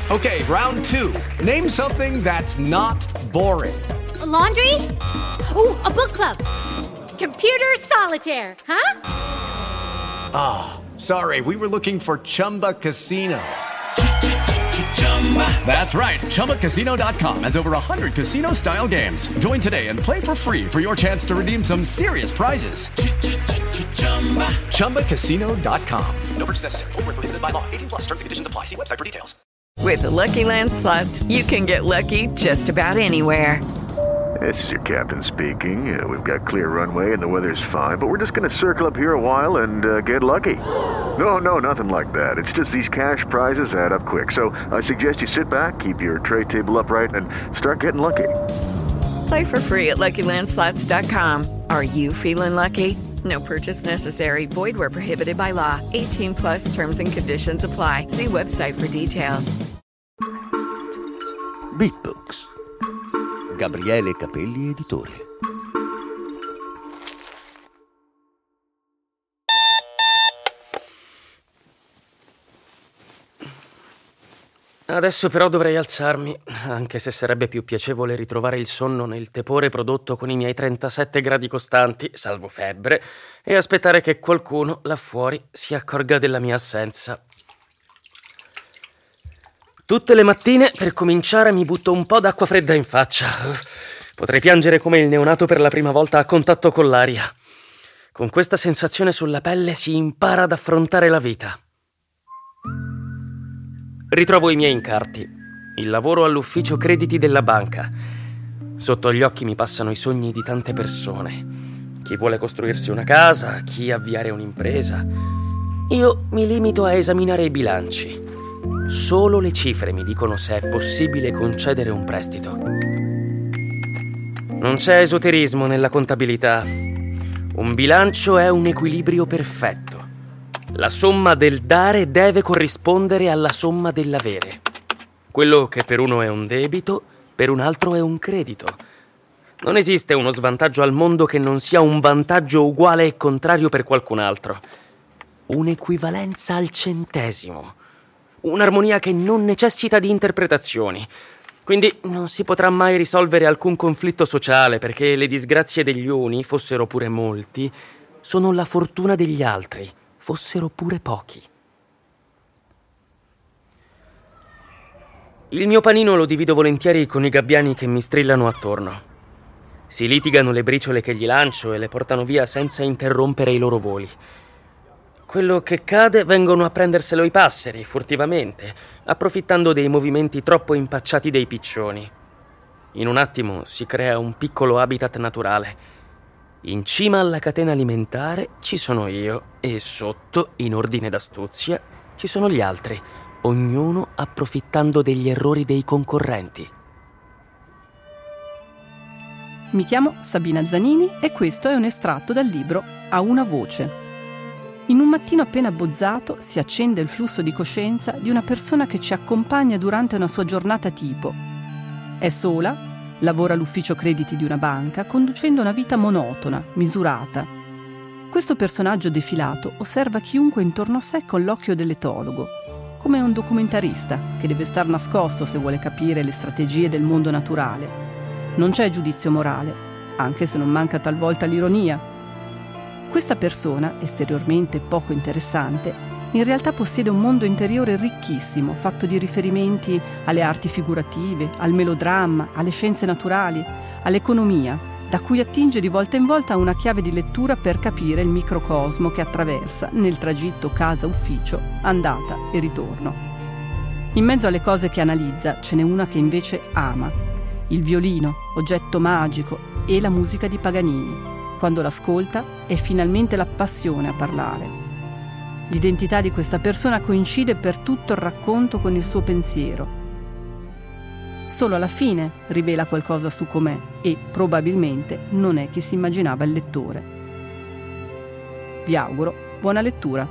Okay, round 2. Name something that's not boring. A laundry? Ooh, a book club. Computer solitaire, huh? Ah, sorry, we were looking for Chumba Casino. That's right, ChumbaCasino.com has over 100 casino-style games. Join today and play for free for your chance to redeem some serious prizes. ChumbaCasino.com. No purchase necessary. Void where prohibited by law. 18 plus. Terms and conditions apply. See website for details. With the Lucky Land Slots, you can get lucky just about anywhere. This is your captain speaking. We've got clear runway and the weather's fine, but we're just going to circle up here a while and get lucky. No, nothing like that. It's just these cash prizes add up quick. So I suggest you sit back, keep your tray table upright, and start getting lucky. Play for free at LuckyLandSlots.com. Are you feeling lucky? No purchase necessary. Void where prohibited by law. 18 plus terms and conditions apply. See website for details. Beatbooks. Gabriele Capelli, editore. Adesso però dovrei alzarmi, anche se sarebbe più piacevole ritrovare il sonno nel tepore prodotto con i miei 37 gradi costanti, salvo febbre, e aspettare che qualcuno là fuori si accorga della mia assenza. Tutte le mattine, per cominciare, mi butto un po' d'acqua fredda in faccia. Potrei piangere come il neonato per la prima volta a contatto con l'aria. Con questa sensazione sulla pelle si impara ad affrontare la vita. Ritrovo i miei incarti. Il lavoro all'ufficio crediti della banca. Sotto gli occhi mi passano i sogni di tante persone. Chi vuole costruirsi una casa, chi avviare un'impresa. Io mi limito a esaminare i bilanci. Solo le cifre mi dicono se è possibile concedere un prestito. Non c'è esoterismo nella contabilità. Un bilancio è un equilibrio perfetto. La somma del dare deve corrispondere alla somma dell'avere. Quello che per uno è un debito, per un altro è un credito. Non esiste uno svantaggio al mondo che non sia un vantaggio uguale e contrario per qualcun altro. Un'equivalenza al centesimo. Un'armonia che non necessita di interpretazioni. Quindi non si potrà mai risolvere alcun conflitto sociale, perché le disgrazie degli uni, fossero pure molti, sono la fortuna degli altri, fossero pure pochi. Il mio panino lo divido volentieri con i gabbiani che mi strillano attorno. Si litigano le briciole che gli lancio e le portano via senza interrompere i loro voli. Quello che cade vengono a prenderselo i passeri, furtivamente, approfittando dei movimenti troppo impacciati dei piccioni. In un attimo si crea un piccolo habitat naturale. In cima alla catena alimentare ci sono io e sotto, in ordine d'astuzia, ci sono gli altri, ognuno approfittando degli errori dei concorrenti. Mi chiamo Sabina Zanini e questo è un estratto dal libro A una voce. In un mattino appena abbozzato si accende il flusso di coscienza di una persona che ci accompagna durante una sua giornata tipo. È sola, lavora all'ufficio crediti di una banca, conducendo una vita monotona, misurata. Questo personaggio defilato osserva chiunque intorno a sé con l'occhio dell'etologo, come un documentarista che deve star nascosto se vuole capire le strategie del mondo naturale. Non c'è giudizio morale, anche se non manca talvolta l'ironia. Questa persona, esteriormente poco interessante, in realtà possiede un mondo interiore ricchissimo, fatto di riferimenti alle arti figurative, al melodramma, alle scienze naturali, all'economia, da cui attinge di volta in volta una chiave di lettura per capire il microcosmo che attraversa nel tragitto casa-ufficio, andata e ritorno. In mezzo alle cose che analizza ce n'è una che invece ama: il violino, oggetto magico, e la musica di Paganini. Quando l'ascolta è finalmente la passione a parlare. L'identità di questa persona coincide per tutto il racconto con il suo pensiero. Solo alla fine rivela qualcosa su com'è e probabilmente non è chi si immaginava il lettore. Vi auguro buona lettura.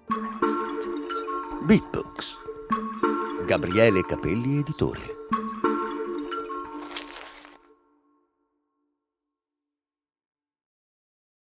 Beatbooks. Gabriele Capelli, editore.